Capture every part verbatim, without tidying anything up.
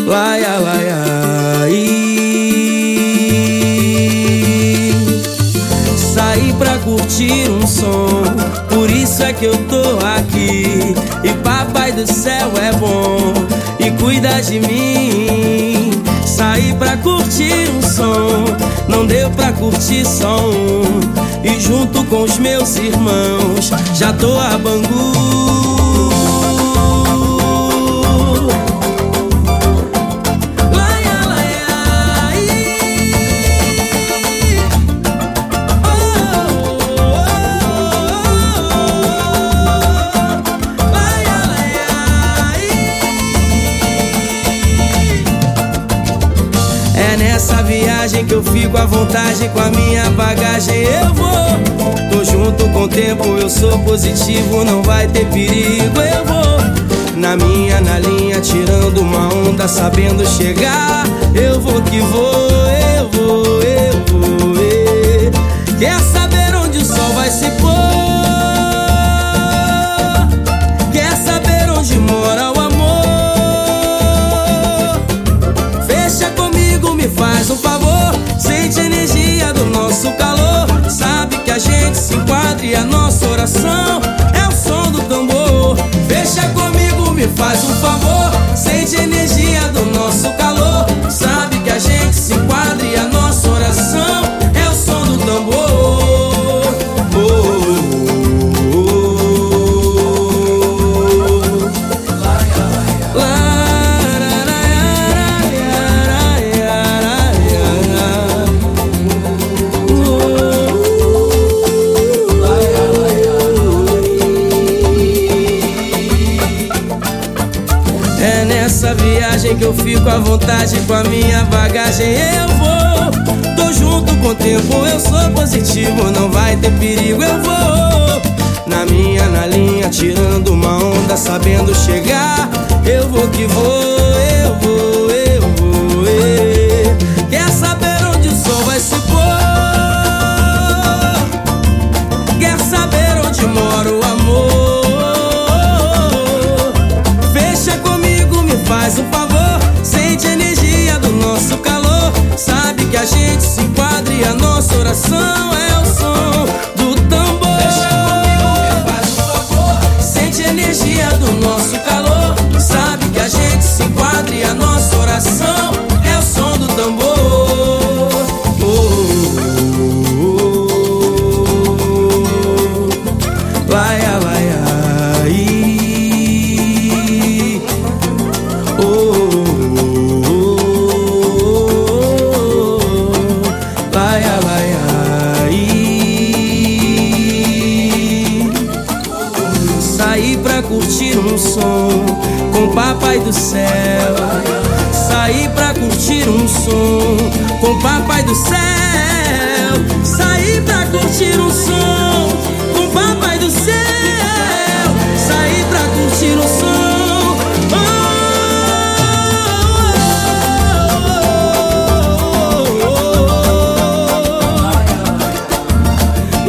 laia, laia, e saí pra curtir um som, por isso é que eu tô aqui. E papai do céu é bom e cuida de mim. Saí pra curtir um som, não deu pra curtir só um. E junto com os meus irmãos já tô a Bangu. É nessa viagem que eu fico à vontade, com a minha bagagem eu vou. Tô junto com o tempo, eu sou positivo, não vai ter perigo, eu vou. Na minha, na linha, tirando uma onda, sabendo chegar. Eu vou que vou, eu vou, eu vou, eu. Quer saber onde o sol vai se pôr? Quer saber onde mora o amor? Fecha comigo, me faz um favor. Sente a energia do nosso calor. Sabe que a gente se enquadra e a nossa oração é o som do tambor. Fecha comigo, me faz um favor. Sente a energia do nosso calor. Sabe que a gente se enquadra e a nossa oração é o som do tambor. Oh, oh, oh, oh. É nessa viagem que eu fico à vontade, com a minha bagagem eu vou. Tô junto com o tempo, eu sou positivo, não vai ter perigo, eu vou. Na minha, na linha, tirando uma onda, sabendo chegar. Eu vou que vou, eu vou, eu vou, eu. Quer saber onde o sol vai se pôr? Quer saber onde mora o amor? Fecha comigo, me faz um favor. Sente a energia do nosso calor. Sabe que a gente se enquadra e a nossa oração é o som do tambor. Fecha comigo, me faz um favor. Sente a energia do nosso calor. Sabe que a gente se enquadra e a nossa oração é o som do tambor. Oh, oh, oh, oh. Laia, laia, e oh, oh, oh, laia, laia, e saí pra curtir um som com o papai do céu. Saí pra curtir um som com o papai do céu. Saí pra curtir um som com o papai do céu. Saí pra curtir um som. Oh, oh, oh, oh.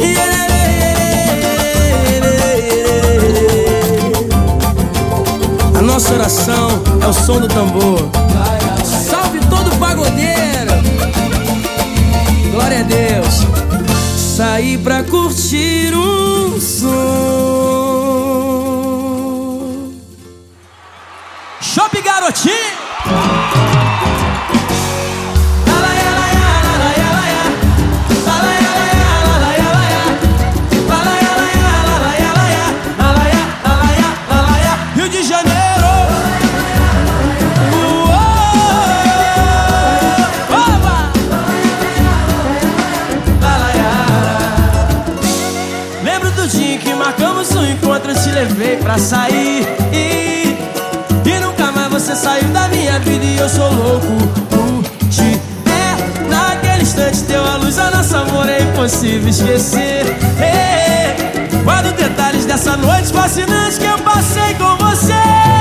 Yeah. A nossa oração é o som do tambor. Salve todo pagodeiro. Glória a Deus. Saí pra curtir um som. Shopping Garotinho. Rio de Janeiro. Lembro do dia que marcamos um encontro, eu te levei pra sair e, e nunca mais você saiu da minha vida. E eu sou louco por te ver. Naquele instante deu a luz, a nosso amor é impossível esquecer. Hey, guardo detalhes dessa noite fascinante que eu passei com você.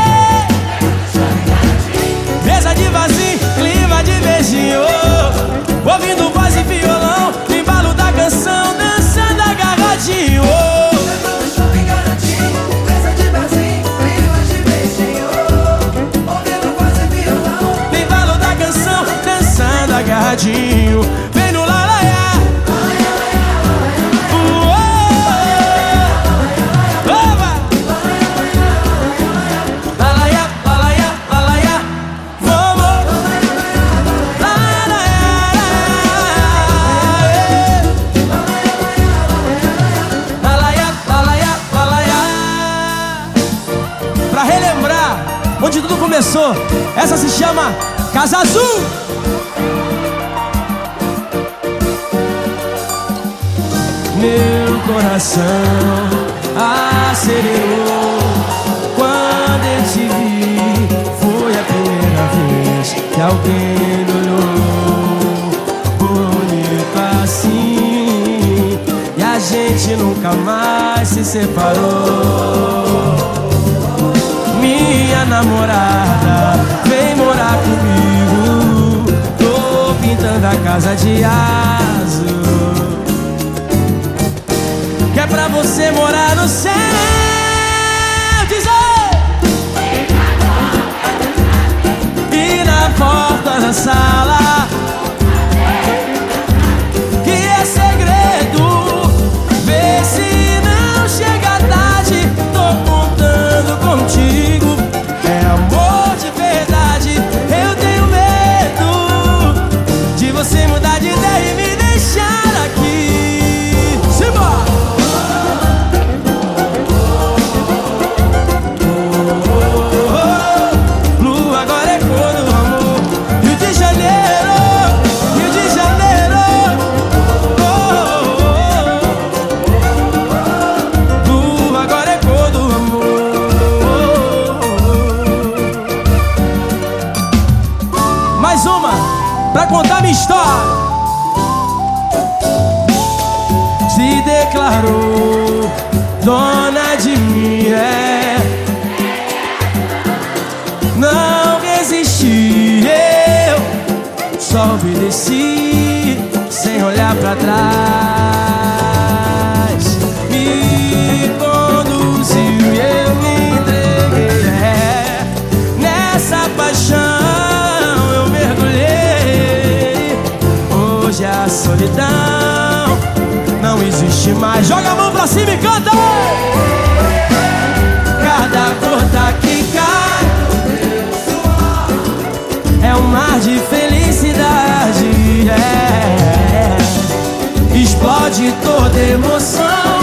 Mesa de vazio, clima de beijinho, ouvindo voz e violão, no embalo da canção, dançando agarradinho. Mesa de vazio, clima de beijinho, ouvindo voz e violão, Gostou? Essa se chama Casa Azul. Meu coração acelerou quando eu te vi. Foi a primeira vez que alguém me olhou bonito assim, e a gente nunca mais se separou. Minha namorada vem morar comigo, tô pintando a casa de azul, que é pra você morar no céu. Diz aí! E na porta da sala, que é segredo, vê se não chega tarde. Tô contando contigo, é amor de verdade. Eu tenho medo de você mudar de ideia e me deixar aqui. Simbora! Pra contar minha história. Se declarou dona de mim, é. Não resisti, eu só obedeci sem olhar pra trás. Me conduziu e eu me entreguei, é. Nessa paixão a solidão não existe mais. Joga a mão pra cima e canta! Cada gota que cai é um mar de felicidade, é. Explode toda emoção,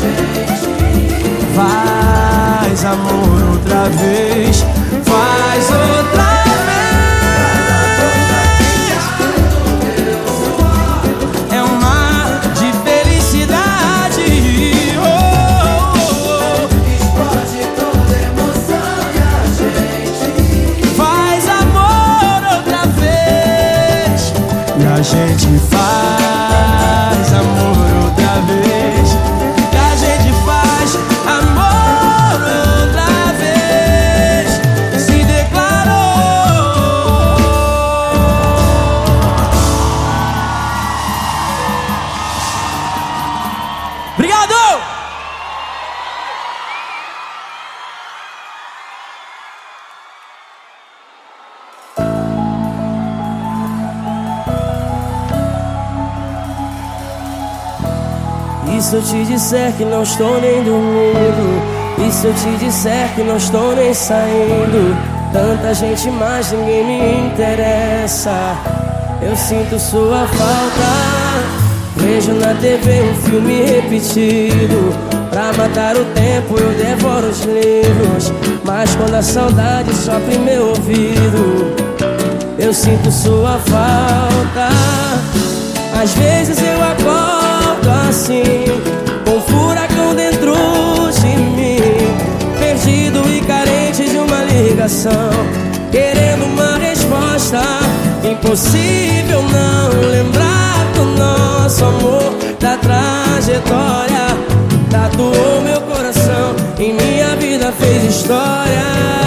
faz amor outra vez, faz outra vez. A gente faz amor outra vez, que a gente faz amor outra vez. Se declarou. Obrigado! E se eu te disser que não estou nem dormindo? E se eu te disser que não estou nem saindo? Tanta gente, mas ninguém me interessa. Eu sinto sua falta. Vejo na T V um filme repetido. Pra matar o tempo eu devoro os livros, mas quando a saudade sopra em meu ouvido, eu sinto sua falta. Às vezes eu acordo assim, com um furacão dentro de mim, perdido e carente de uma ligação, querendo uma resposta. Impossível não lembrar do nosso amor, da trajetória. Tatuou meu coração, em minha vida fez história.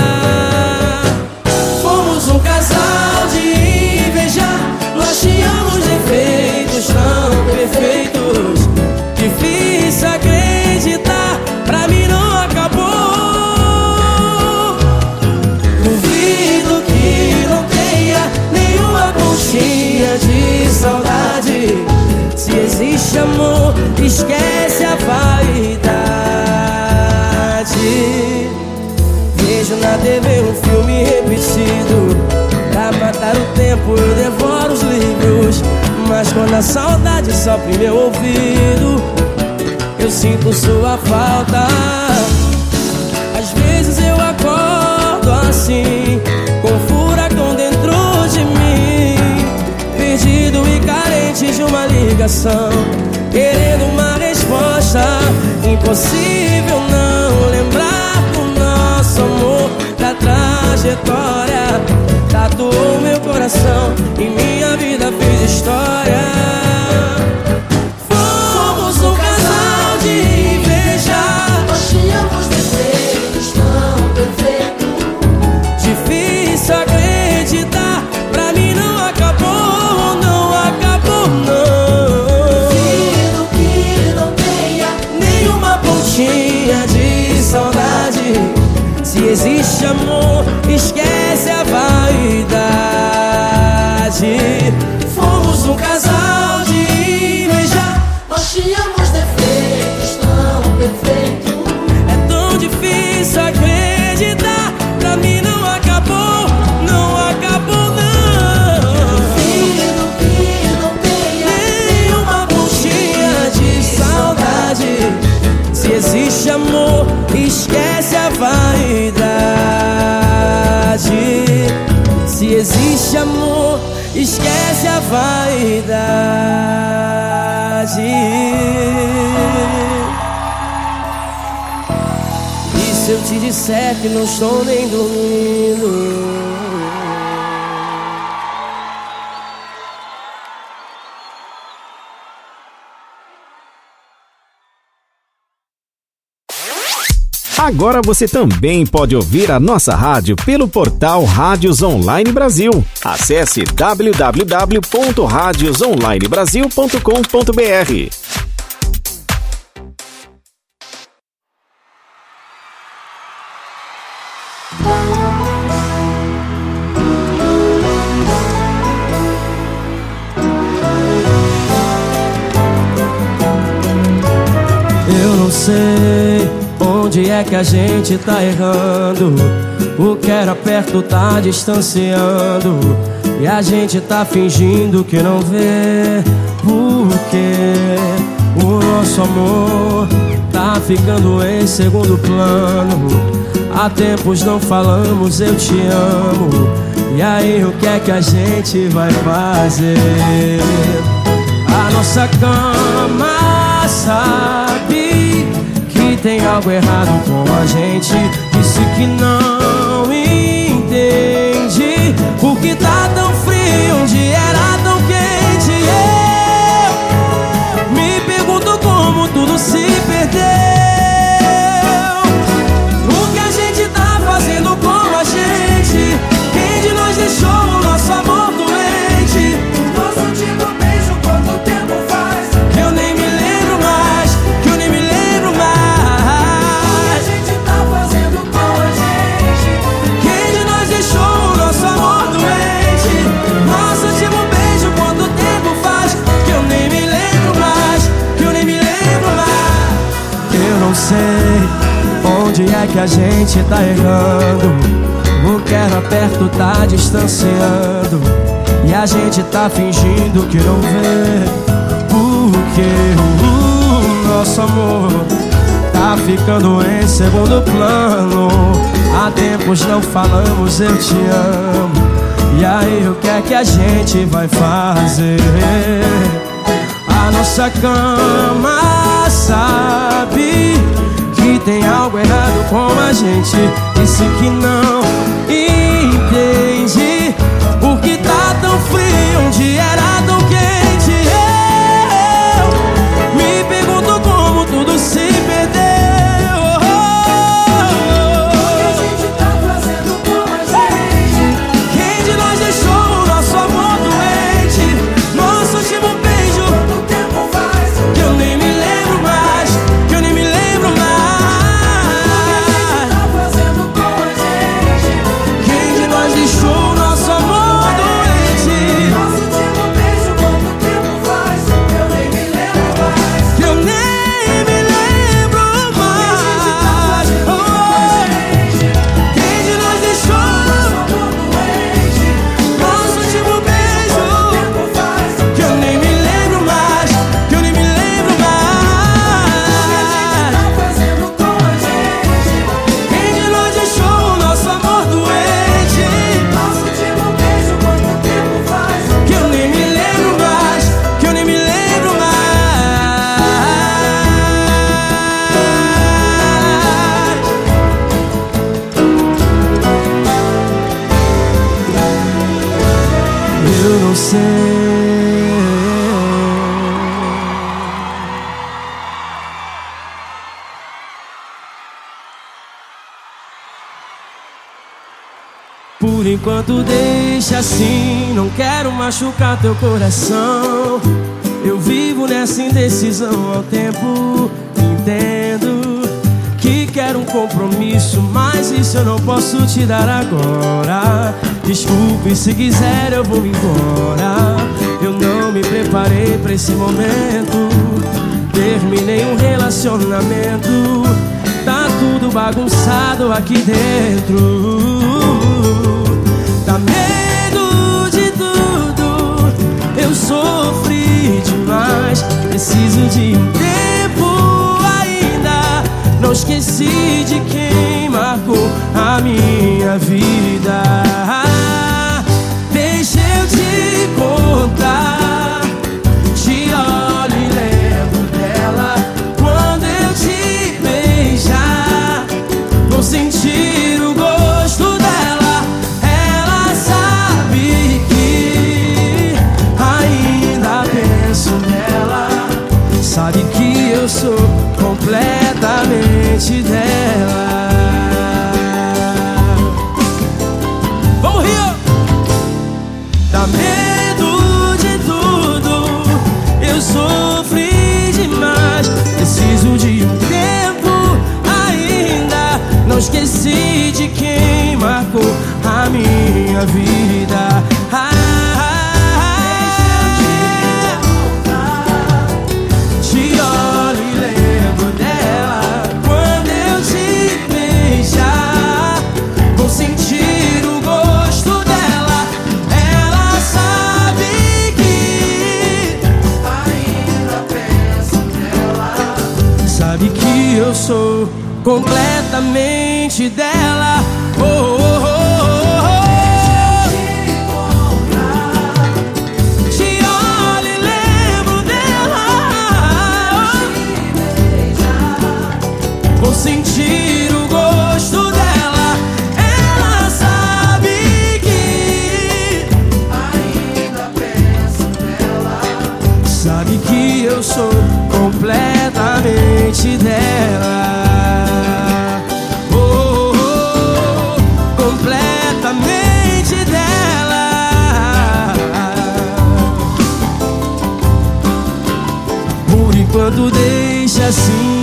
Fomos um casal de invejar, nós tínhamos defeitos tão perfeitos, difícil acreditar, pra mim não acabou. Duvido que não tenha nenhuma conchinha de saudade. Se existe amor, esquece a vaidade. Vejo na T V um filme repetido, pra matar o tempo eu devoro os livros, mas quando a saudade sopra em meu ouvido, eu sinto sua falta. Às vezes eu acordo assim, com ligação, querendo uma resposta. Impossível não lembrar do nosso amor, da trajetória. Tatuou meu coração e minha vida fez história. Fomos um casal de inveja, nós tínhamos defeitos tão perfeitos. Difícil acreditar, pra mim não acabou, não acabou não. Duvido que não tenha nenhuma pontinha de saudade. Se existe amor, esquece a vaidade. Fomos um casal de inveja, nós tínhamos defeitos tão perfeitos. é tão difícil acreditar, pra mim não acabou, não acabou não. Duvido que não tenha Nenhuma pontinha de saudade. Se existe amor, esquece a vaidade. Se existe amor, esquece a vaidade. E se eu te disser que não estou nem dormindo? Agora você também pode ouvir a nossa rádio pelo portal Rádios Online Brasil. Acesse w w w ponto radios online brasil ponto com ponto b r. Eu não sei onde é que a gente tá errando. O que era perto tá distanciando, e a gente tá fingindo que não vê. Porque o nosso amor tá ficando em segundo plano. Há tempos não falamos eu te amo. E aí o que é que a gente vai fazer? A nossa cama sabe que tem algo errado com a gente. Disse que não entende por que tá tão frio onde era tão quente. Eu me pergunto como tudo se perdeu. O que a gente tá fazendo com a gente? Quem de nós deixou o nosso amor doente? Nosso último beijo, quanto tempo faz? Eu nem me lembro mais, que eu nem me lembro mais. a gente tá fazendo com a gente. Quem de nós deixou o nosso amor doente? Nosso último beijo, quanto tempo faz? Que eu nem me lembro mais, que eu nem me lembro mais. Eu não sei onde é que a gente tá errando. O que era perto tá distanciando, e a gente tá fingindo que não vê. Porque o nosso amor tá ficando em segundo plano. Há tempos não falamos eu te amo. E aí o que é que a gente vai fazer? A nossa cama sabe que tem algo errado com a gente. Disse que não entende por que tá tão frio onde era tão quente. Eu me pergunto como tudo se perdeu. O que a gente tá fazendo com a gente? Quem de nós deixou o nosso amor doente? Nosso último beijo, Quanto tempo faz? que eu nem me lembro mais, que eu nem me lembro mais. Tá fazendo com a gente. eu não sei. Por enquanto deixa assim, não quero machucar teu coração. Eu vivo nessa indecisão ao tempo. Entendo que quero um compromisso, mas isso eu não posso te dar agora. Desculpe, se quiser eu vou embora. Eu não me preparei pra esse momento. Terminei um relacionamento. Tá tudo bagunçado aqui dentro. Dá medo de tudo. Eu sofri demais. Preciso de um tempo ainda. Não esqueci de quem marcou a minha vida. Deixa eu te contar. Te olho e lembro dela. Quando eu te beijar, vou sentir o gosto dela. Ela sabe que ainda penso nela. Sabe que eu sou completamente dela. Vamos, Rio! Dá medo de tudo. Eu sofri demais. Preciso de um tempo ainda. Não esqueci de quem marcou a minha vida. Ah, eu sou completamente dela. Oh, oh, oh, oh. Te olho e lembro dela. Vou sentir o gosto dela. Ela sabe que ainda penso nela. Sabe que eu sou completamente dela. Oh, oh, oh, completamente dela. Por enquanto deixa assim.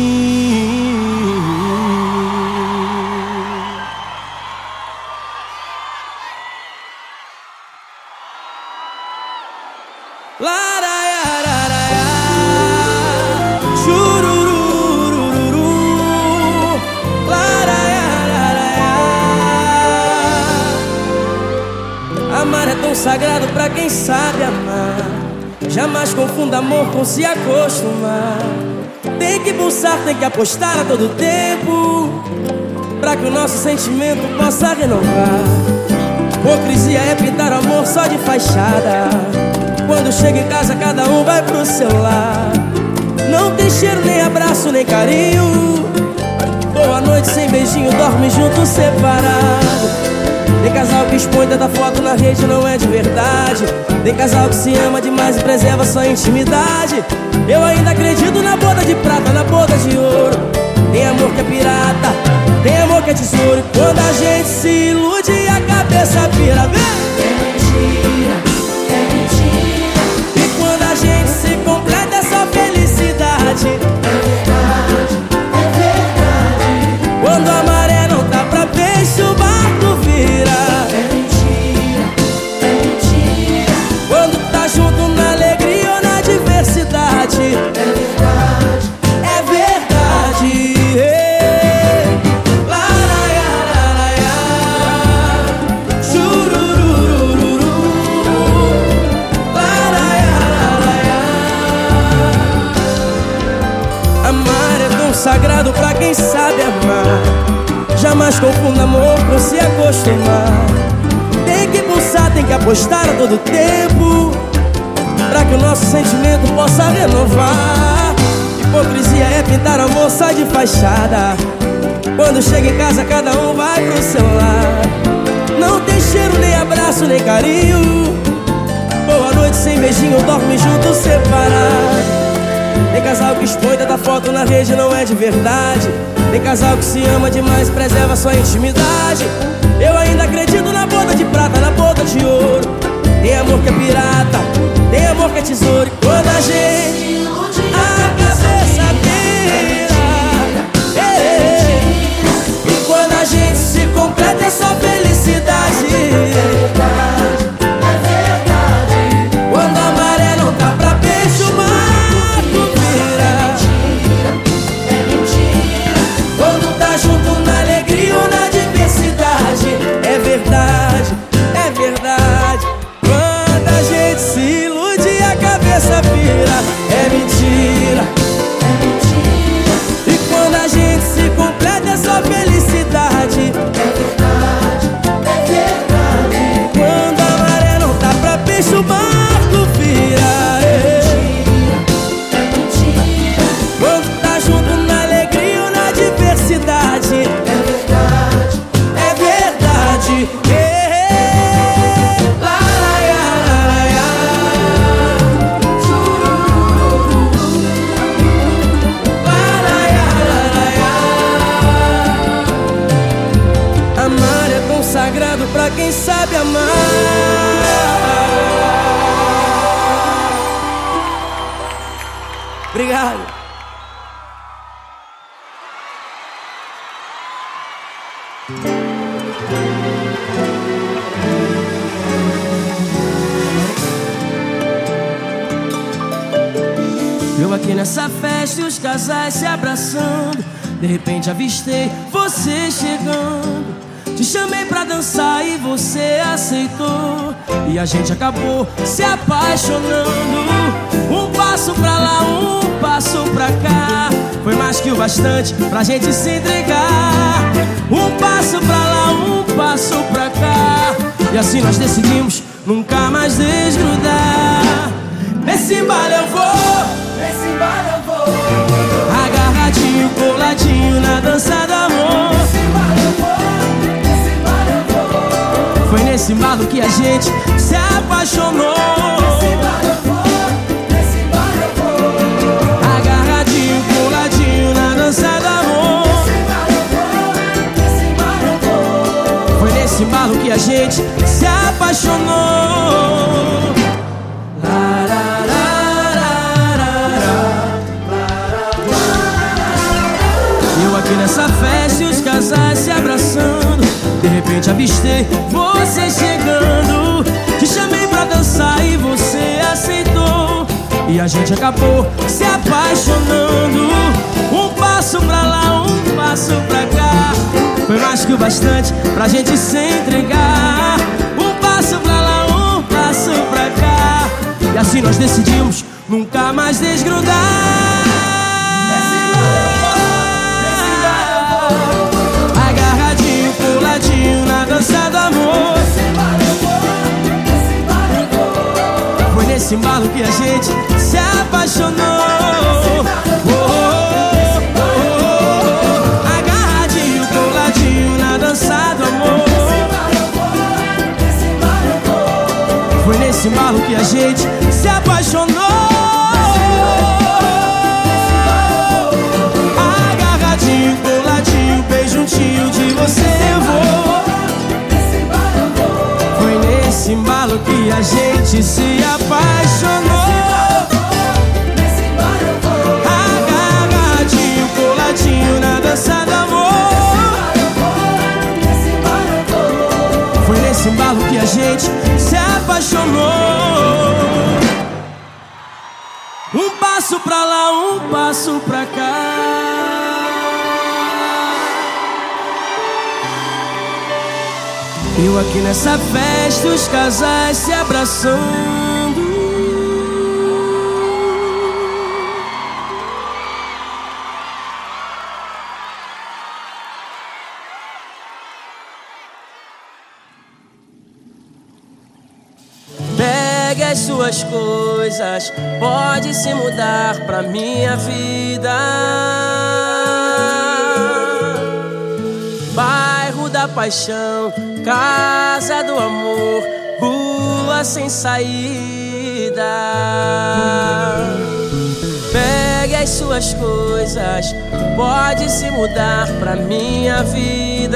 Amar é tão sagrado pra quem sabe amar. Jamais confunda amor com se acostumar. Tem que pulsar, tem que apostar a todo tempo, pra que o nosso sentimento possa renovar. Hipocrisia é pintar amor só de fachada. Quando chega em casa cada um vai pro seu lar. Não tem cheiro, nem abraço, nem carinho. Boa noite sem beijinho, dorme junto separado. Tem casal que expõe tanta foto na rede, não é de verdade. Tem casal que se ama demais e preserva sua intimidade. Eu ainda acredito na boda de prata, na boda de ouro. Tem amor que é pirata, tem amor que é tesouro. E quando a gente se ilude a cabeça vira, vem! É mentira, é mentira. E quando a gente se completa é só felicidade. É verdade, é verdade. Quando a maré não tá pra peixe, o barco vira. É mentira, é mentira. Quando tá junto na alegria ou na diversidade. É verdade, é verdade. Ei. Laraiararaia. Chururururu. Laraiararaia. Amar é tão sagrado pra quem sabe amar. Jamais confunda amor com se acostumar. Tem que pulsar, tem que apostar a todo tempo, pra que o nosso sentimento possa renovar. Hipocrisia é pintar amor só de fachada. Quando chega em casa cada um vai pro seu lar. não tem cheiro, nem abraço, nem carinho. Boa noite sem beijinho, dorme junto, separado. Tem casal que expõe tanta foto na rede, não é de verdade. Tem casal que se ama demais, preserva sua intimidade. Eu ainda acredito na boda de prata, na boda de ouro. Tem amor que é pirata, tem amor que é tesouro. E quando a gente a cabeça vira, e quando a gente se completa é só felicidade. Quando a maré não tá pra peixe, o barco vira. Quando tá junto na alegria ou na diversidade, é verdade, é verdade. Quando a gente se ilude e a cabeça vira, é mentira, é mentira. E quando a gente se completa é só felicidade, é verdade, é verdade. Quando a maré não tá pra peixe, o barco vira, é mentira, é mentira. Quando tá junto na alegria ou na diversidade, é verdade, é verdade. É. Lá, lá, lá, lá, lá. Amar é tão sagrado pra quem sabe amar. Obrigado. Eu aqui nessa festa e os casais se abraçando. De repente avistei você chegando. Te chamei pra dançar e você aceitou. E a gente acabou se apaixonando. Um passo pra lá, um passo pra cá. Foi mais que o bastante pra gente se entregar. Um passo pra lá, um passo pra cá. E assim nós decidimos nunca mais desgrudar. Nesse embalo eu vou, nesse embalo eu vou, agarradinho, coladinho na dança do amor. Nesse embalo eu vou, nesse embalo eu vou. Foi nesse embalo que a gente se apaixonou. Nesse embalo eu vou, nesse embalo eu vou, agarradinho, coladinho na dança do amor. Nesse embalo eu vou, nesse embalo eu vou. Foi nesse embalo que a gente se apaixonou. Eu aqui nessa festa e os casais se abraçando. De repente avistei você chegando. Te chamei pra dançar e você aceitou. E a gente acabou se apaixonando. Um passo pra lá, um passo pra cá. Foi mais que o bastante pra gente se entregar. Um passo pra lá, um passo pra cá. E assim nós decidimos nunca mais desgrudar. Agarradinho, coladinho na dança do amor. Foi nesse embalo que a gente se apaixonou. Oh, oh, oh, oh. Agarradinho, coladinho na dança do amor. Foi nesse embalo que a gente se apaixonou. Agarradinho, coladinho, bem juntinho de você eu vou. Foi nesse embalo que a gente se apaixonou. Agarradinho, coladinho na dança do amor. Foi nesse embalo que a gente se apaixonou. Um passo pra lá, um passo pra cá. Eu aqui nessa festa, os casais se abraçando. Pegue as suas coisas, pode se mudar pra minha vida. Bairro da da paixão, casa do amor, rua sem saída. Pegue as suas coisas, pode se mudar pra minha vida.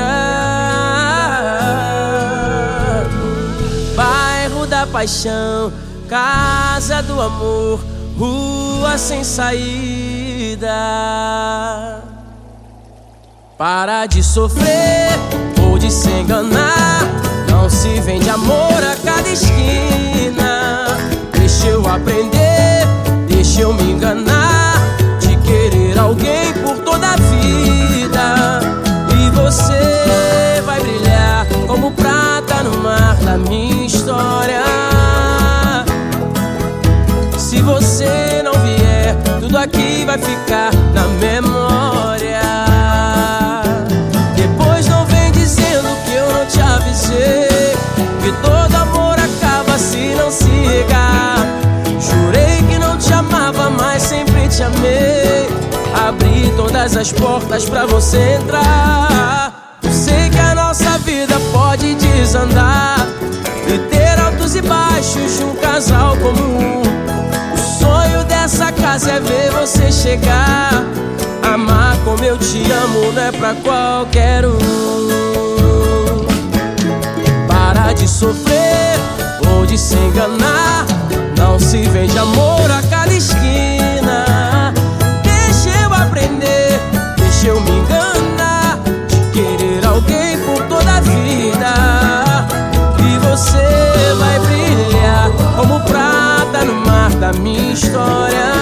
Bairro da paixão, casa do amor, rua sem saída. Para de sofrer ou de se enganar, não se vende amor a cada esquina. Deixa eu aprender, deixa eu me enganar, de querer alguém por toda a vida. E você vai brilhar como prata no mar da minha história. Se você não vier, tudo aqui vai ficar na memória. Depois não vem dizendo que eu não te avisei, que todo amor acaba se não se regar. Jurei que não te amava, mas sempre te amei. Abri todas as portas pra você entrar. Eu sei que a nossa vida pode desandar e ter altos e baixos de um casal comum. O sonho dessa casa é ver você chegar. Amar como eu te amo não é pra qualquer um. Para de sofrer ou de se enganar, não se vende amor a cada esquina. Deixa eu aprender, deixa eu me enganar, de querer alguém por toda a vida. E você vai brilhar como prata no mar da minha história.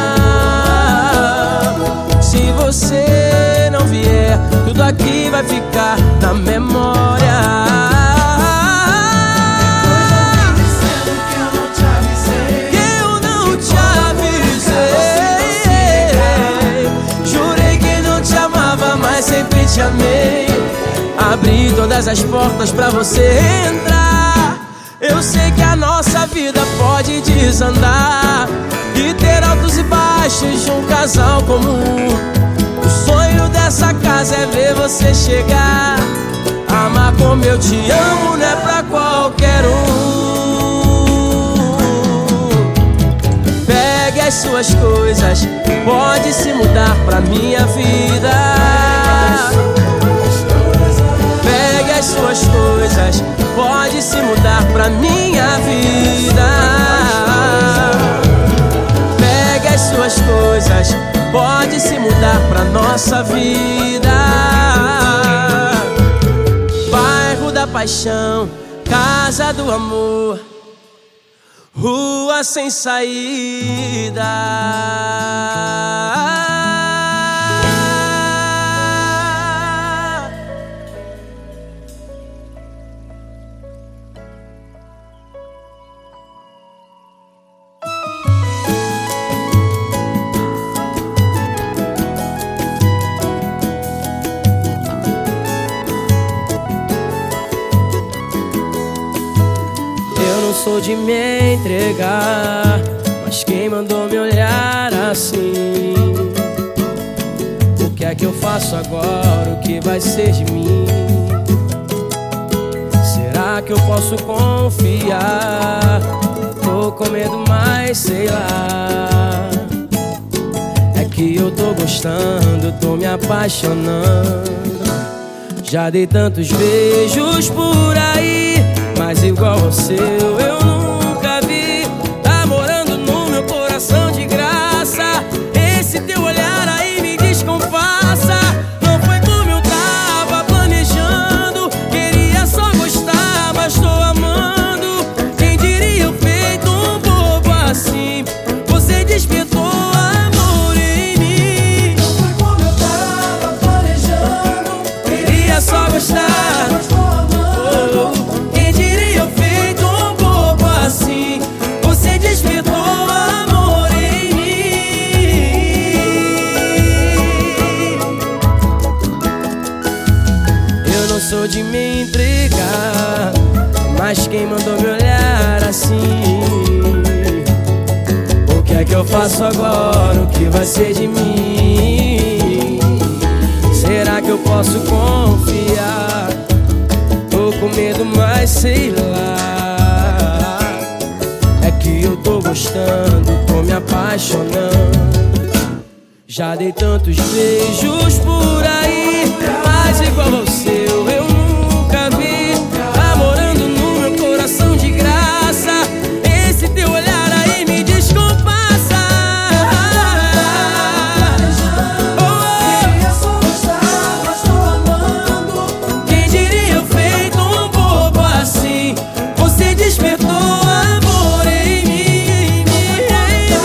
Se você não vier, tudo aqui vai ficar na memória. Sempre te amei, abri todas as portas pra você entrar. Eu sei que a nossa vida pode desandar e ter altos e baixos de um casal comum. O sonho dessa casa é ver você chegar. Amar como eu te amo não é pra qualquer um. Pegue as suas coisas, pode se mudar pra minha vida. Pegue as suas coisas, pode se mudar pra minha vida. Pegue as suas coisas, pode se mudar pra nossa vida. Bairro da paixão, casa do amor, rua sem saída. Sou de me entregar, mas quem mandou me olhar assim? O que é que eu faço agora? O que vai ser de mim? Será que eu posso confiar? Tô com medo, mas sei lá. É que eu tô gostando, tô me apaixonando. Já dei tantos beijos por aí, mas igual ao seu eu nunca vi. Tá morando no meu coração de graça. Esse teu olhar aí me descompassa. Não foi como eu tava planejando. Queria só gostar, mas tô amando. Quem diria eu feito um bobo assim? Você despertou amor em mim. Não foi como eu tava planejando. Queria só gostar, mas tô amando. quem diria eu feito um bobo assim? Você despertou amor em mim. Eu não sou de me entregar, mas quem mandou me olhar assim? O que é que eu faço agora? O que vai ser de mim? Será que eu posso confiar? medo, mas sei lá. É que eu tô gostando, tô me apaixonando. Já dei tantos beijos por aí, mas igual você eu, eu nunca vi. Tá morando no meu coração de graça. Esse teu olhar aí me descompassa. Queria só gostar, mas tô amando. Quem diria eu feito um bobo assim? Você despertou amor em mim, em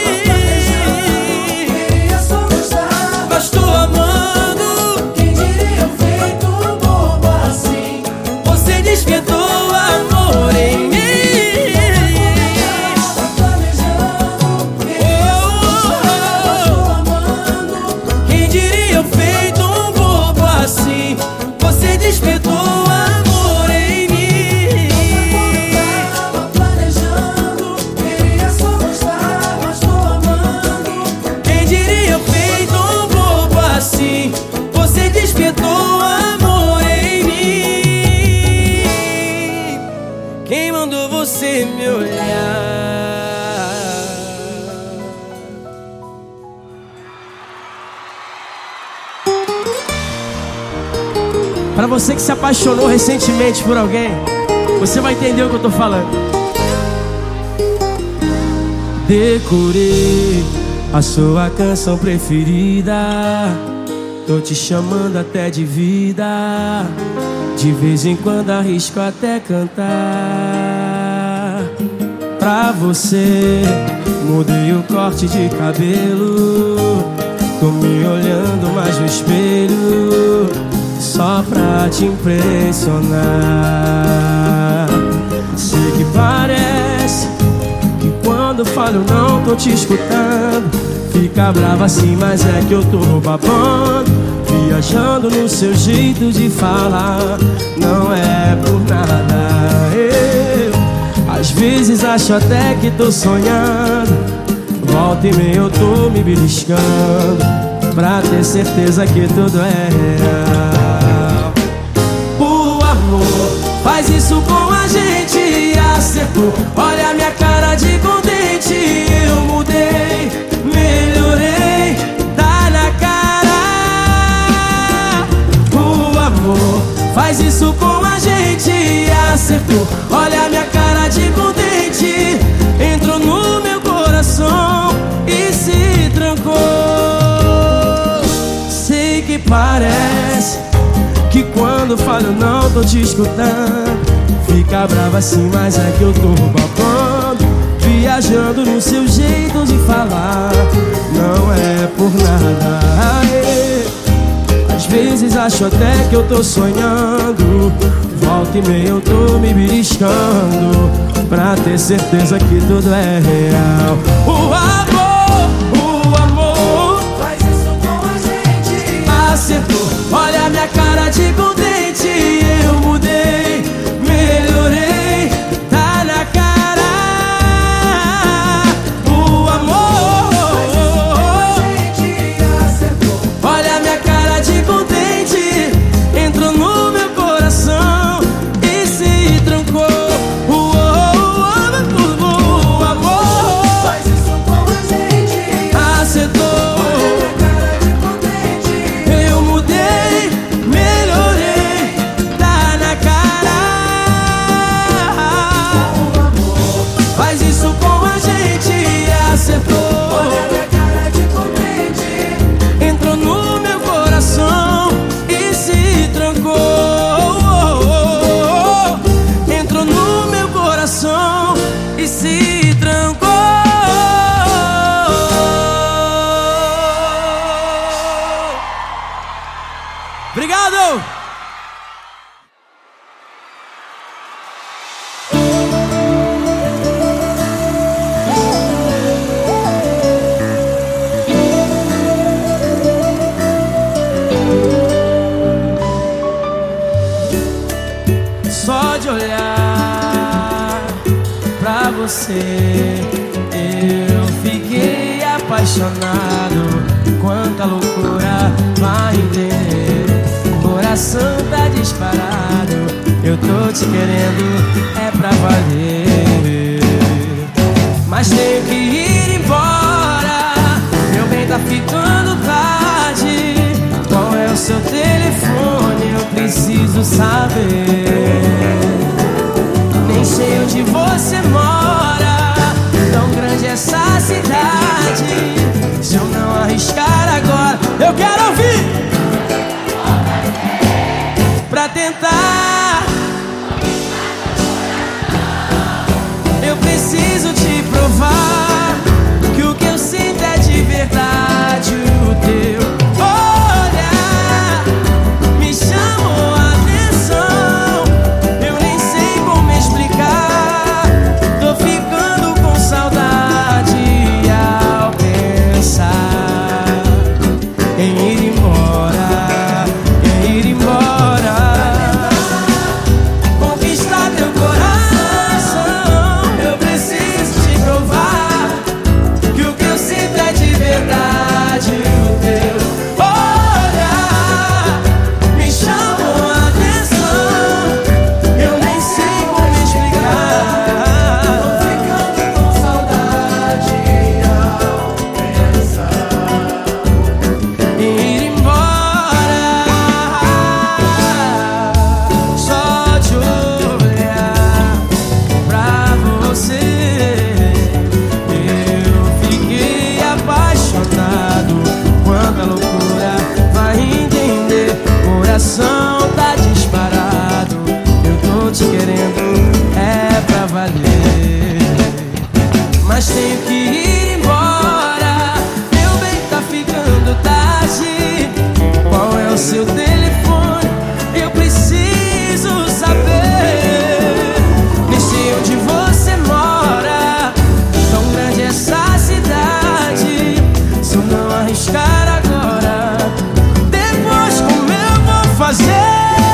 mim. Queria só gostar, Mas tô amando. quem diria eu feito um bobo assim? Você despertou amor em mim. Tava planejando, queria só gostar, mas tô amando. Quem diria eu feito um bobo assim? Você despertou amor em mim. Tava planejando, queria só gostar, mas tô amando. Quem diria eu feito um bobo assim? Você despertou amor em mim. Quem mandou você me olhar? Pra você que se apaixonou recentemente por alguém, você vai entender o que eu tô falando. Decorei a sua canção preferida. Tô te chamando até de vida. De vez em quando arrisco até cantar. Pra você mudei o corte de cabelo. Tô me olhando mais no espelho, só pra te impressionar. Sei que parece que quando falo não tô te escutando. Fica brava assim, mas é que eu tô babando, viajando no seu jeito de falar. Não é por nada. Eu às vezes acho até que tô sonhando. Volta e meia eu tô me beliscando, pra ter certeza que tudo é real. O amor faz isso com a gente, acertou. Olha a minha cara de contente. Eu mudei, melhorei, tá na cara. O amor faz isso com a gente, acertou. Olha a minha cara de contente. Entrou no meu coração e se trancou. Sei que parece que quando falo não tô te escutando. Fica brava assim, mas é que eu tô babando, viajando no seu jeito de falar. Não é por nada. Às vezes acho até que eu tô sonhando. Volta e meia eu tô me beliscando, pra ter certeza que tudo é real. O amor, o amor Faz isso com a gente, acertou. Olha a minha cara de contente. Eu mudei, melhorei, tá na cara. O amor, gente acertou. olha a minha cara de contente. Entrou no meu coração e se trancou. O amor Faz isso com a gente, acertou. cara de contente. Eu mudei, melhorei, tá na cara. Faz isso com a gente, acertou. Olha minha cara de contente. Entrou no meu coração e se trancou. Entrou no meu coração e se trancou. Obrigado! Só de olhar pra você eu fiquei apaixonado. Quanta loucura, vai entender. Coração tá disparado. Eu eu tô te querendo, é pra valer. Mas tenho que ir embora, meu bem, tá ficando tarde. Qual é o seu telefone? Eu preciso saber. Nem sei onde você mora, tão grande essa cidade. Se eu não arriscar agora, eu quero ouvir. Pra tentar, eu preciso te provar que o que eu sinto é de verdade. O teu olhar me chamou a atenção, eu nem sei como explicar. Tô ficando com saudade ao pensar em ir embora, em ir embora. Conquistar teu coração, eu preciso te provar que o que eu sinto é de verdade. O teu olhar me chamou a atenção, eu nem sei como explicar. Tô ficando com saudade ao pensar em ir embora. Só de olhar pra você, eu fiquei apaixonado. Quanta loucura, vai entender. Coração tá disparado, eu tô te querendo, é pra valer. Mas tenho que ir embora, meu bem, tá ficando tarde. Qual é o seu telefone? Eu preciso saber. Nem sei onde você mora, tão grande essa cidade. Se eu não arriscar agora, depois como eu vou fazer?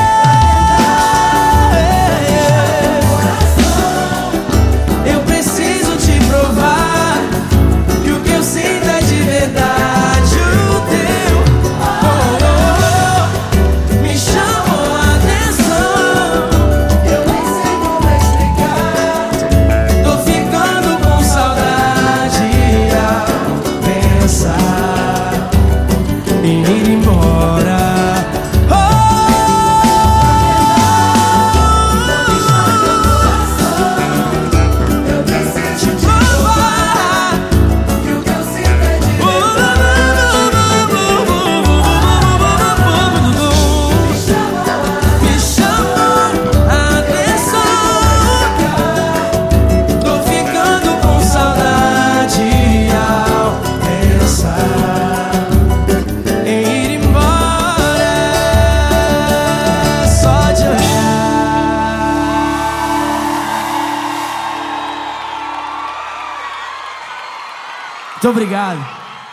Eu preciso te provar que o que eu sinto é de verdade. O teu oh, oh, me chamou a atenção, eu nem sei como explicar. Tô ficando com saudade ao pensar em ir embora. Eu preciso te provar que o que eu sinto é de me chamou a atenção. Tô ficando com saudade ao pensar em ir embora. Só de olhar. Muito obrigado.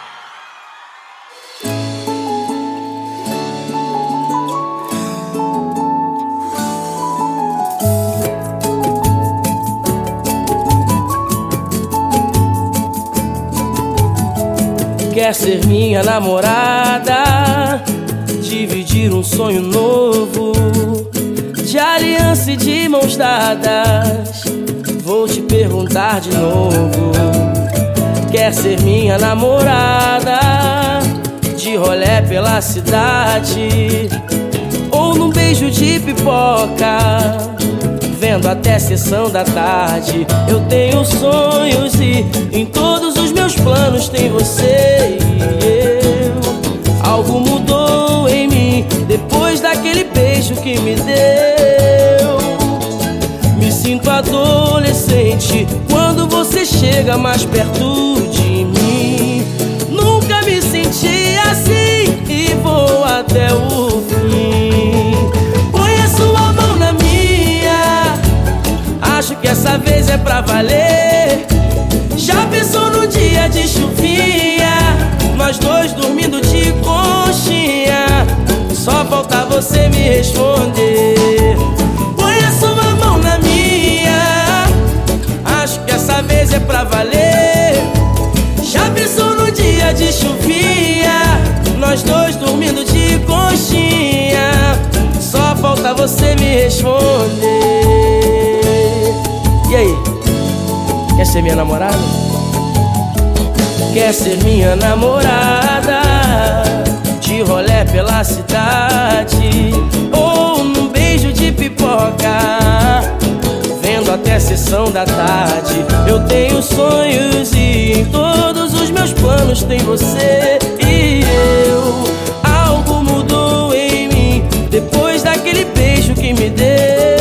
Quer ser minha namorada, dividir um sonho novo, de aliança e de mãos dadas. Vou te perguntar de novo. Quer ser minha namorada, de rolé pela cidade, ou num beijo de pipoca, vendo até sessão da tarde. Eu tenho sonhos e em todos os meus planos tem você e eu. Algo mudou em mim depois daquele beijo que me deu. Me sinto adolescente quando você chega mais perto de mim. Nunca me senti assim e vou até o fim. Põe a sua mão na minha, acho que essa vez é pra valer. Já pensou no dia de chuvinha, nós dois dormindo de conchinha? Só falta você me responder. Põe a sua mão na minha, acho que essa vez é pra valer. Já pensou no dia de chuvinha, nós dois dormindo de conchinha? Só falta você me responder. E aí? Quer ser minha namorada? Quer ser minha namorada? De rolé pela cidade, ou num beijo de pipoca, vendo até sessão da tarde. Eu tenho sonhos e em todos os meus planos tem você. E eu, algo mudou em mim depois daquele beijo que me deu.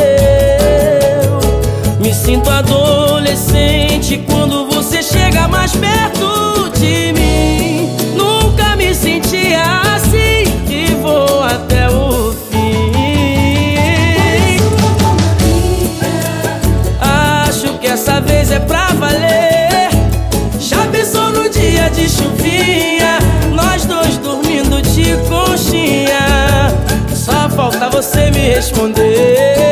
Me sinto adolescente quando você chega mais perto de mim. Nunca me senti assim e vou até o fim. Acho que essa vez é pra valer. Já pensou no dia de chuvinha, nós dois dormindo de conchinha? Só falta você me responder.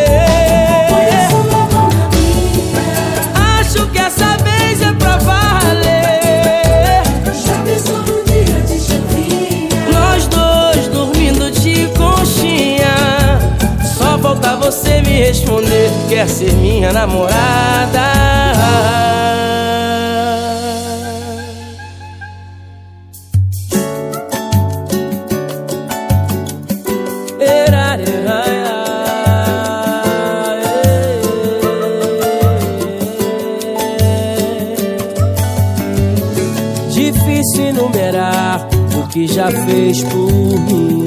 Acho que essa vez é pra valer. Já pensou no dia de chuvinha, Nós dois dormindo de conchinha. Só falta você me responder. Quer ser minha namorada? Difícil enumerar o que já fez por mim.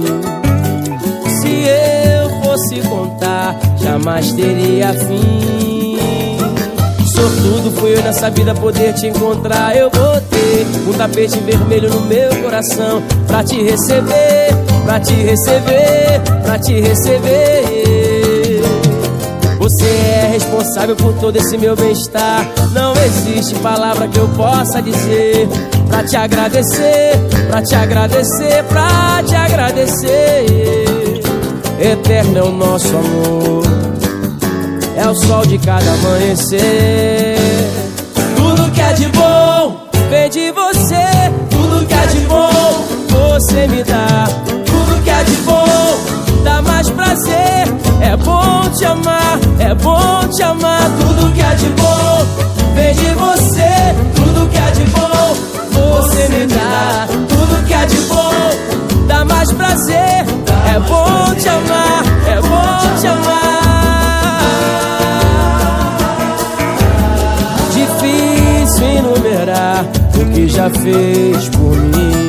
Se eu fosse contar, jamais teria fim. Sortudo fui eu nessa vida poder te encontrar. Eu botei um tapete vermelho no meu coração pra te receber, pra te receber, pra te receber. Você é responsável por todo esse meu bem-estar. Não existe palavra que eu possa dizer pra te agradecer, pra te agradecer, pra te agradecer. Eterno é o nosso amor, é o sol de cada amanhecer. Tudo que é de bom vem de você. Tudo que é de bom você me dá. Tudo que é de bom dá mais prazer. É bom te amar, é bom te amar. Tudo que é de bom vem de você. Tudo que é de bom você me dá. Tudo que é de bom dá mais prazer. É bom te amar, é bom te amar. Difícil enumerar o que já fez por mim.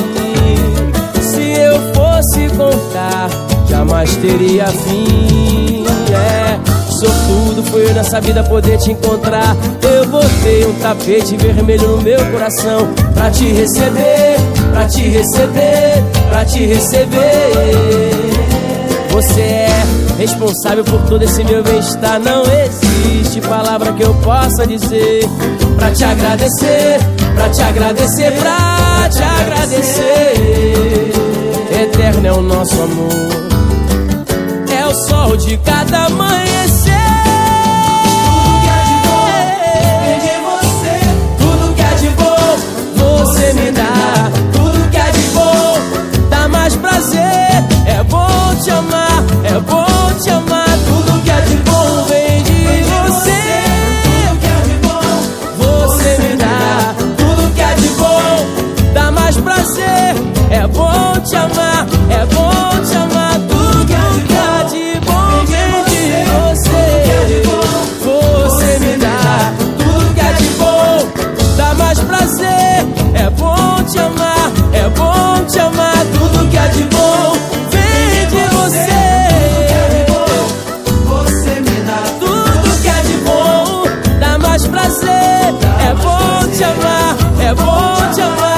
Se eu fosse contar, jamais teria fim. É, sortudo fui eu nessa vida poder te encontrar. Eu botei um tapete vermelho no meu coração pra te receber, pra te receber, pra te receber. Você é responsável por todo esse meu bem-estar. Não existe palavra que eu possa dizer pra te agradecer, pra te agradecer, pra te agradecer. Eterno é o nosso amor, é o sol de cada amanhecer. tudo que é de bom vem de você. Tudo que é de bom você me dá. Tudo que é de bom dá mais prazer. É bom te amar, é bom te amar. Tudo que é de bom vem de você. Tudo que é de bom Você me dá. Tudo que é de bom dá mais prazer. É bom te amar, é bom te amar. Tudo que é de bom vem de você. Você me dá. Tudo que é de bom dá mais prazer. É bom te amar, é bom te amar. Tudo que é de bom vem de você. você me dá. Tudo que é de bom dá mais prazer. É bom te amar, é bom te amar.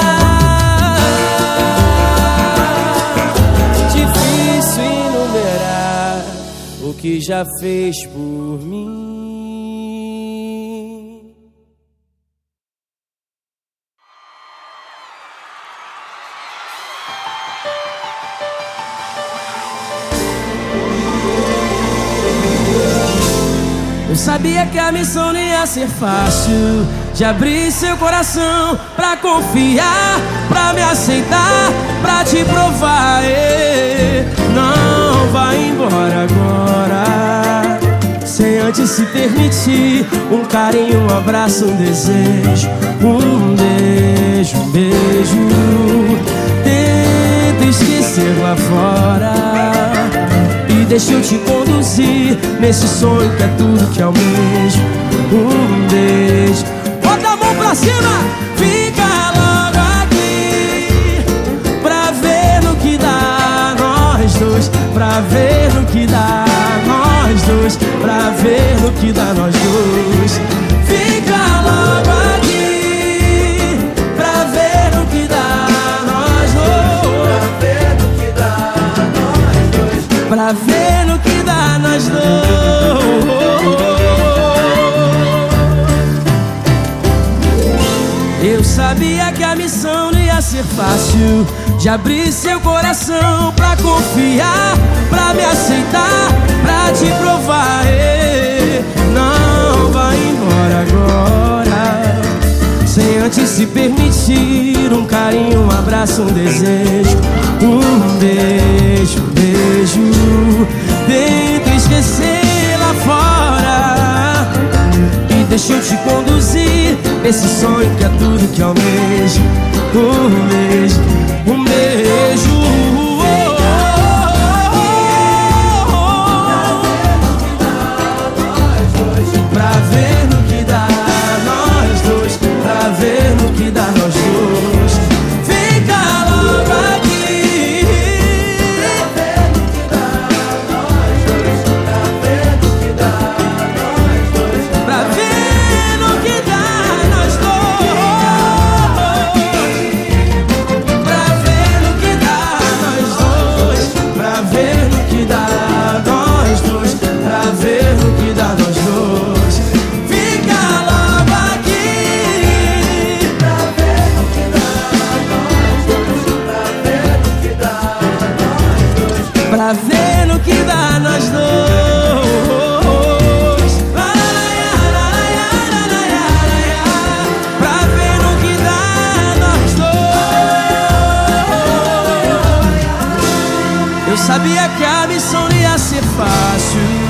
Difícil enumerar o que já fez por mim. Eu sabia que a missão não ia ser fácil, de abrir seu coração pra confiar, pra me aceitar, pra te provar. eh. Não vai embora agora, sem antes se permitir um carinho, um abraço, um desejo. Um beijo, um beijo. Tenta esquecer lá fora e deixa eu te conduzir nesse sonho que é tudo que almejo. Um beijo. Bota a mão pra cima, fica logo aqui pra ver no que dá nós dois, pra ver no que dá nós dois, pra ver no que dá nós dois. Fica logo aqui pra ver no que dá nós dois, pra ver no que dá nós dois, pra ver no que dá nós dois. Eu sabia que a missão não ia ser fácil, de abrir seu coração pra confiar, pra me aceitar, pra te provar. Ei, não vai embora agora, sem antes se permitir um carinho, um abraço, um desejo. Um beijo, um beijo. Tenta esquecer lá fora e deixa eu te conduzir esse sonho que é tudo que almejo. Um beijo, um beijo. Pra ver no que dá nós dois, pra ver no que dá nós dois. Fica logo aqui pra ver no que dá nós dois, pra ver no que dá nós dois, pra ver no que dá nós dois, pra ver no que dá nós dois, pra ver no que dá nós dois. Pra ver no que dá nós dois. Pra ver no que dá nós dois. Eu sabia que a missão não ia ser fácil.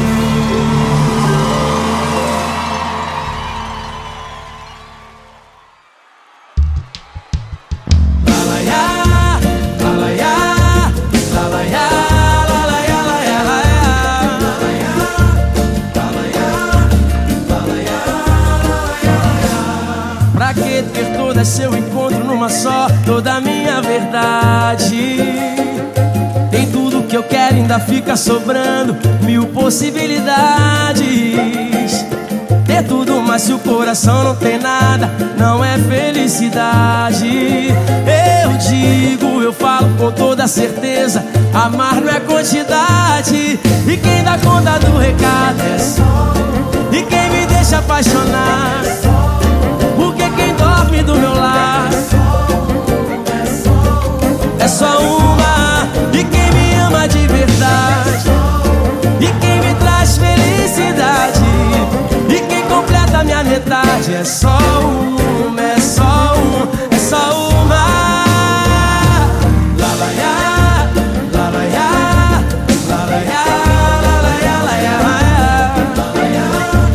Pra que ter todo seu encontro numa só, toda a minha verdade? Tem tudo que eu quero, ainda fica sobrando mil possibilidades. Ter tudo, mas se o coração não tem nada, não é felicidade. Eu digo, eu falo com toda certeza, amar não é quantidade. E quem dá conta do recado é só, e quem me deixa apaixonar, porque quem dorme do meu lado é só uma. E quem me ama de verdade, e quem me traz felicidade, e quem completa a minha metade é só uma, é só um, é só uma. Lalaiá, lalaiá, lalaiá, lalaiá, lalaiá,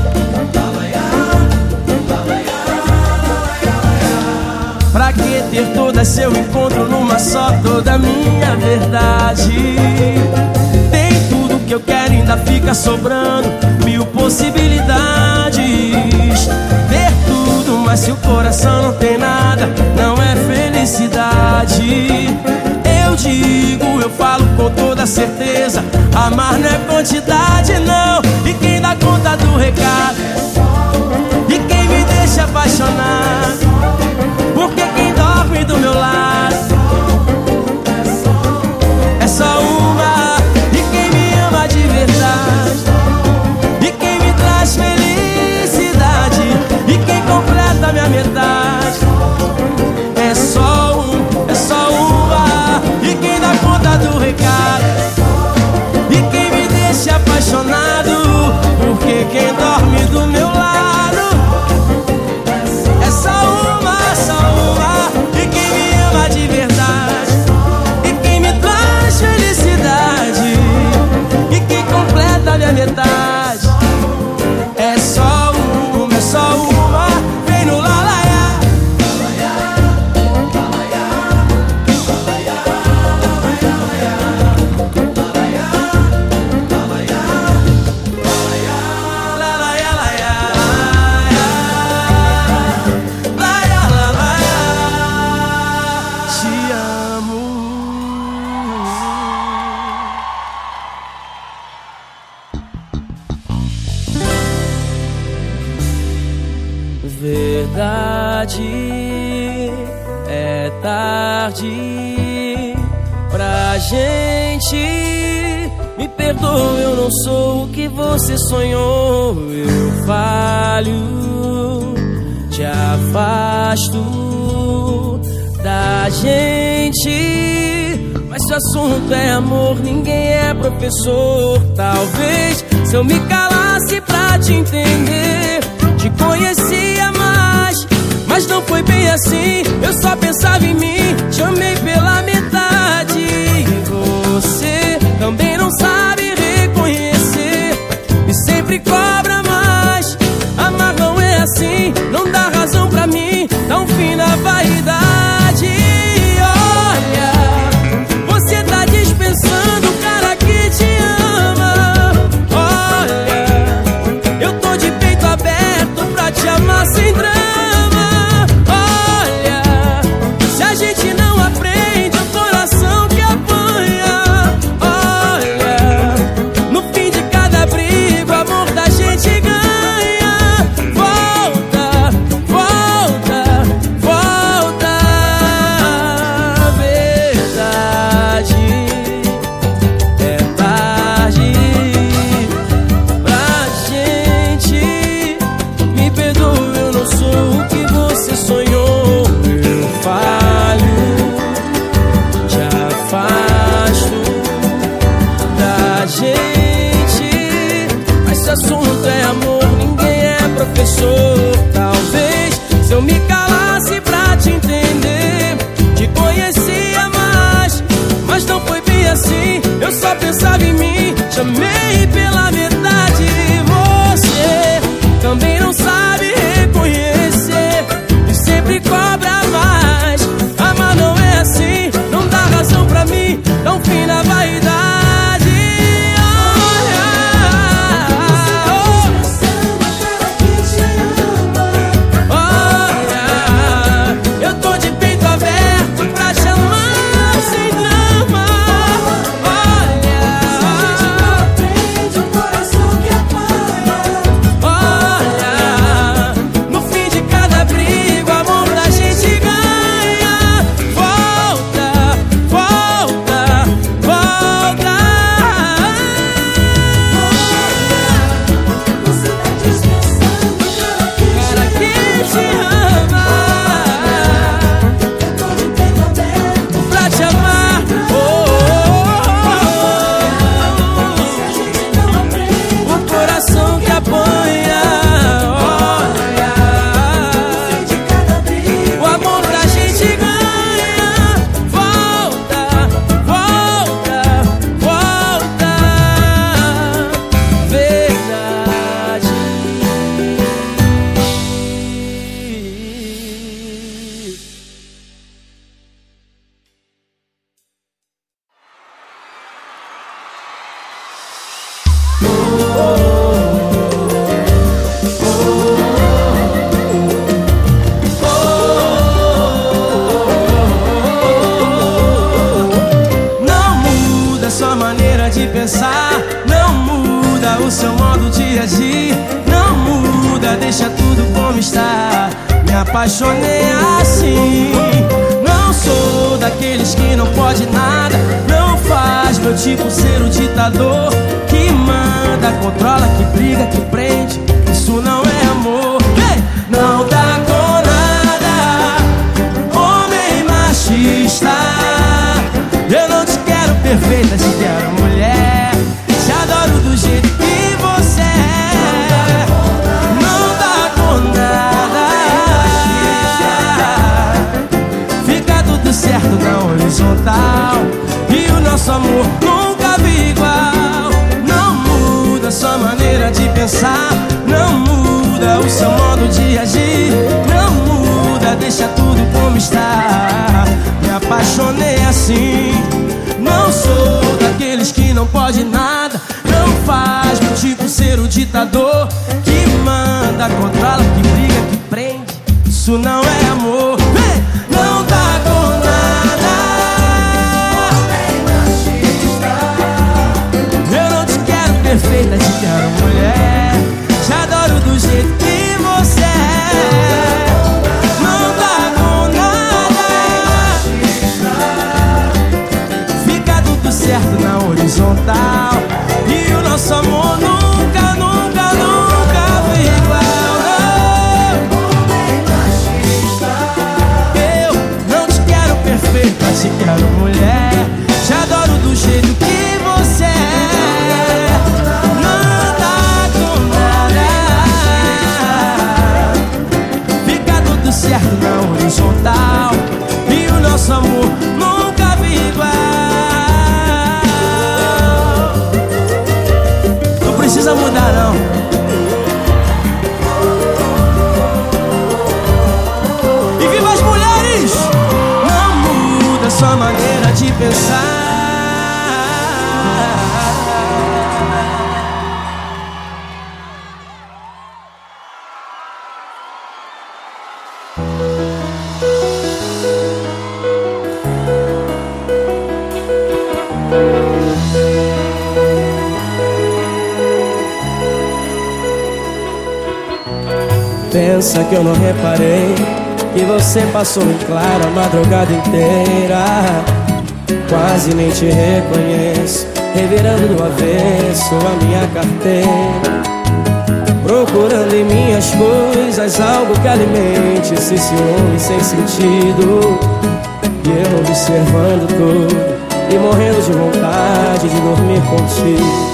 pra que ter todo seu encontro numa só, toda a minha verdade? Tem tudo que eu quero, ainda fica sobrando mil possibilidades. Ter tudo, mas se o coração não tem nada, não é felicidade. Eu digo, eu falo com toda certeza, amar não é quantidade, não. E quem dá conta do recado, e quem me deixa apaixonar, porque quem dorme do meu lado é só uma. E quem me ama de verdade, e quem me traz felicidade, e quem completa minha metade é só um, é só uma. E quem dá conta do recado, e quem me deixa apaixonado, Verdade, é tarde pra gente. Me perdoe, eu não sou o que você sonhou. Eu falho, te afasto da gente. Mas se o assunto é amor, ninguém é professor. Talvez se eu me calasse pra te entender, te conhecia mais, mas não foi bem assim. Eu só pensava em mim, te amei pela metade. E você também não sabe reconhecer e sempre cobra mais. Amar não é assim, não dá razão pra mim, dá um fim na vaidade. Olha, você tá dispensando o cara que te ama. Olha, eu tô de peito aberto pra te amar sem drama. Olha, se a gente não aprende, é o coração que apanha. Olha, no fim de cada briga, o amor da gente ganha. Volta, volta, volta. Verdade, é tarde pra gente. Me perdoe, eu não sou o que você sonhou. Eu falho, te afasto da gente. Mas se o assunto é amor, ninguém é professor. Talvez se eu me calasse pra te entender, te conhecia mais, mas não foi bem assim. Eu só pensava em mim, te amei pela metade. Você também não sabe reconhecer e sempre cobra mais. Amar não é assim, não dá razão pra mim, dá um fim na vaidade. Olha, eu tô de peito aberto pra chamar sem drama. Olha, Aprende o coração que apanha. olha, no fim de cada briga, o amor da gente ganha. Volta, volta, volta. Você tá dispensando o cara que Cara que te ama, eu tô de peito aberto. pra te amar. Oh, Se a gente não aprende, oh, oh, o coração que apanha. Olha, de cada briga, o amor da gente ganha. Volta, volta, volta. Verdade. Não muda sua maneira de pensar, não muda o seu modo de agir, não muda, deixa tudo como está. Me apaixonei assim. Não sou daqueles que não pode nada, não faz meu tipo ser o ditador que manda, controla, que briga, que prende. Isso não é amor. Ei! Não dá com nada, homem machista. Eu não te quero perfeita, te quero mulher. Te adoro do jeito que você é. Não dá com nada, fica tudo certo na horizontal. E o nosso amor nunca vi igual. Não muda sua maneira de pensar, não muda o seu modo de agir, não muda, deixa tudo como está. Me apaixonei assim. Não sou daqueles que não pode nada, não faz meu tipo ser o ditador que manda, controla, que briga, que prende. Isso não é amor. Ei! Não dá com nada, eu não te quero perfeita, te quero mulher. Te adoro do jeito que você é. tudo certo na horizontal, e o nosso amor nunca vi igual. Não precisa mudar não. E viva as mulheres! Não muda sua maneira de pensar. Pensa que eu não reparei que você passou em claro a madrugada inteira. Quase nem te reconheço, revirando do avesso a minha carteira, procurando em minhas coisas algo que alimente esse ciúme sem sentido. E eu observando tudo e morrendo de vontade de dormir contigo.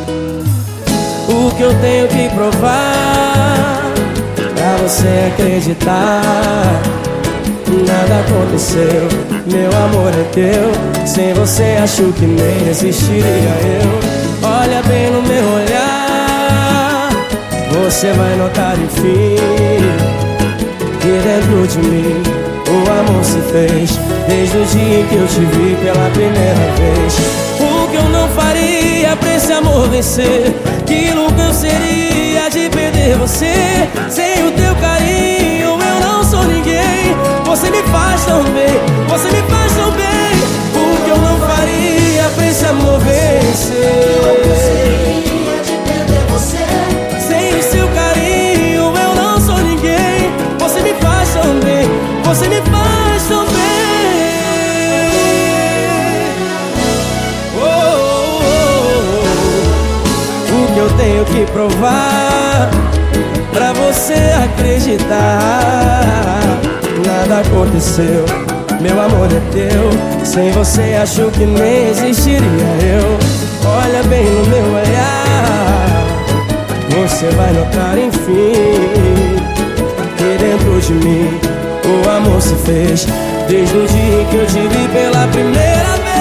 O que eu tenho que provar pra você acreditar? Nada aconteceu, meu amor é teu. Sem você acho que nem existiria eu. Olha bem no meu olhar, você vai notar enfim que dentro de mim o amor se fez desde o dia em que eu te vi pela primeira vez. O que eu não faria pra esse amor vencer? Que louco eu seria de perder você. Sem o teu carinho eu não sou ninguém. Você me faz tão bem, você me faz tão bem. O que eu não faria pra esse amor vencer? Eu seria de perder você. Sem o seu carinho eu não sou ninguém. Você me faz tão bem, você me faz tão bem. Oh, oh, oh. O que eu tenho que provar pra você acreditar? Nada aconteceu, meu amor é teu. Sem você acho que nem existiria eu. Olha bem no meu olhar, você vai notar enfim que dentro de mim o amor se fez desde o dia em que eu te vi pela primeira vez.